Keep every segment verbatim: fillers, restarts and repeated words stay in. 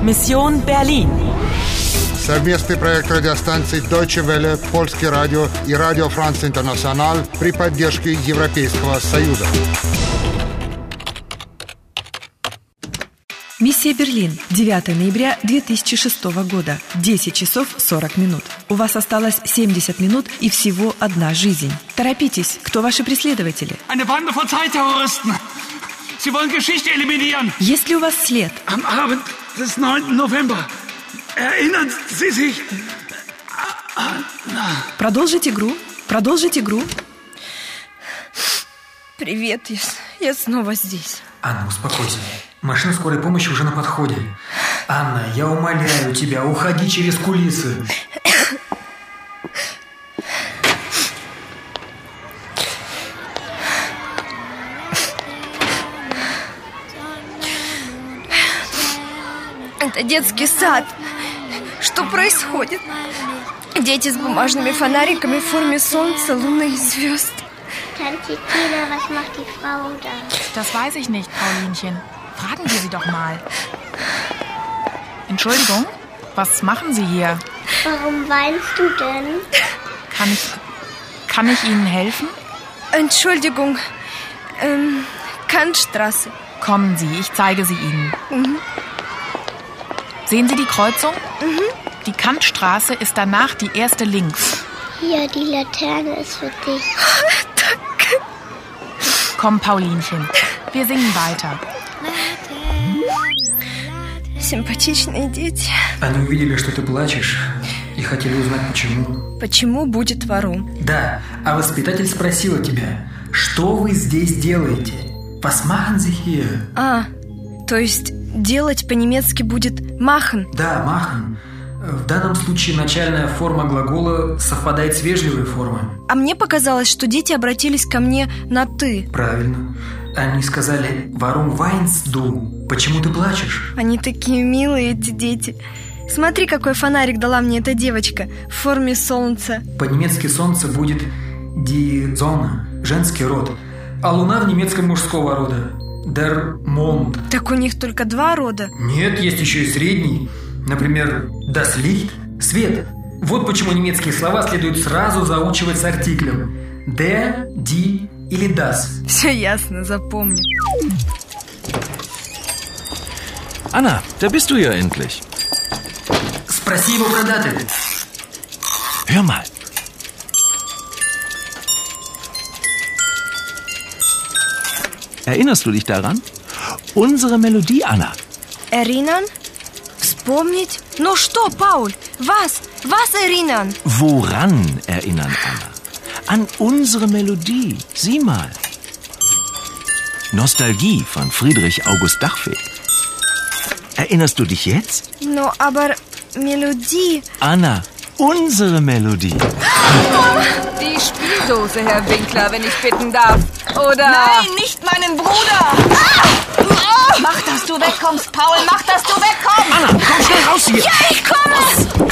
Mission Berlin. Совместный проект радиостанций Deutsche Welle, Польский радио и Радио Франц Интернациональ при поддержке Европейского Союза. Миссия Берлин. девятого ноября две тысячи шестого года. десять часов сорок минут. У вас осталось семьдесят минут и всего одна жизнь. Торопитесь. Кто ваши преследователи? Eine Bande von Zeitterroristen. Sie wollen Geschichte eliminieren. Есть ли у вас след? Am Abend des neunten November. Erinnern Sie sich? Продолжить игру. Продолжить игру. Привет, я, я снова здесь. Анна, успокойся. Машина скорой помощи уже на подходе. Анна, я умоляю тебя, уходи через кулисы. Это детский сад. Что происходит? Дети с бумажными фонариками в форме солнца, луны и звезд. Tante Tina, was macht die Frau da? Das weiß ich nicht, Paulinchen. Fragen wir sie doch mal. Entschuldigung, was machen Sie hier? Warum weinst du denn? Kann ich, kann ich Ihnen helfen? Entschuldigung, ähm, Kantstraße. Kommen Sie, ich zeige sie Ihnen. Mhm. Sehen Sie die Kreuzung? Mhm. Die Kantstraße ist danach die erste links. Hier, die Laterne ist für dich. Danke. Komm, Paulinchen, wir singen weiter. Симпатичные дети. Они увидели, что ты плачешь, и хотели узнать, почему. Почему будет вором? Да, а воспитатель спросила тебя, что вы здесь делаете? Was machen Sie hier? А, то есть делать по-немецки будет machen? Да, machen. В данном случае начальная форма глагола совпадает с вежливой формой. А мне показалось, что дети обратились ко мне на «ты». Правильно. Они сказали «Warum weinst du?» Почему ты плачешь? Они такие милые, эти дети. Смотри, какой фонарик дала мне эта девочка в форме солнца. По-немецки солнце будет die Sonne, женский род. А луна в немецком мужского рода der Mond. Так у них только два рода? Нет, есть еще и средний. Например, das Licht, свет. Вот почему немецкие слова следует сразу заучивать с артиклем der, die или das. Все ясно, запомню. Anna, da bist du ja endlich. Спроси его про даты. Hör mal. Erinnerst du dich daran? Unsere Melodie, Anna. Erinnern? Вспомнить? Ну что, Paul? Was? Was erinnern? Woran erinnern, Anna? An unsere Melodie. Sieh mal. Nostalgie von Friedrich August Dachfeld. Erinnerst du dich jetzt? No, aber Melodie... Anna, unsere Melodie. Die Spieldose, Herr Winkler, wenn ich bitten darf. Oder... Nein, nicht meinen Bruder! Ah! Oh! Mach, dass du wegkommst, Paul! Mach, dass du wegkommst! Anna, komm schnell raus hier! Ja, ich komme!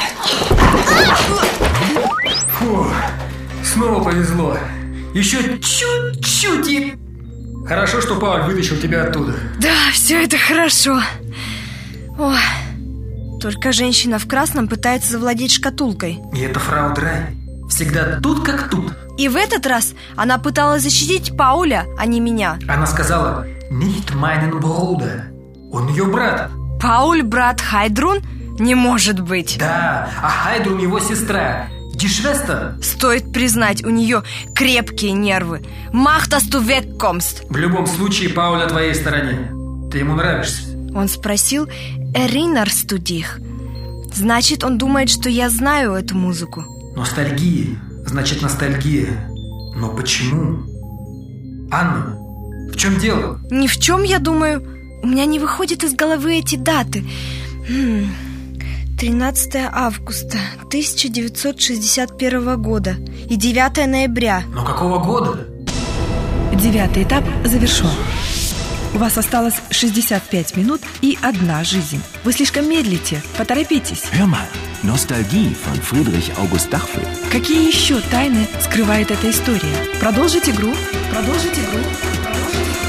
Фу, снова повезло. Еще чуть-чуть и... Хорошо, что Пауль вытащил тебя оттуда. Да, все это хорошо. Ой, только женщина в красном пытается завладеть шкатулкой. И это фрау Драй. Всегда тут как тут. И в этот раз она пыталась защитить Пауля, а не меня. Она сказала «Nicht meinen Bruder». Он ее брат. Пауль брат Хайдрун? Не может быть. Да, а Хайдрун его сестра. Die Schwester. Стоит признать, у нее крепкие нервы. Mach, dass du wegkommst. В любом случае, Пауль на твоей стороне. Ты ему нравишься. Он спросил «Erinnerst du dich?» Значит, он думает, что я знаю эту музыку. Ностальгия, значит ностальгия. Но почему? Анна, в чем дело? Ни в чем, я думаю. У меня не выходят из головы эти даты. тринадцатого августа тысяча девятьсот шестьдесят первого года и девятого ноября. Но какого года? Девятый этап завершен. У вас осталось шестьдесят пять минут и одна жизнь. Вы слишком медлите. Поторопитесь. Hör mal. Nostalgie von Friedrich August Dachfeld. Какие еще тайны скрывает эта история? Продолжить игру. Продолжить игру. Продолжить игру.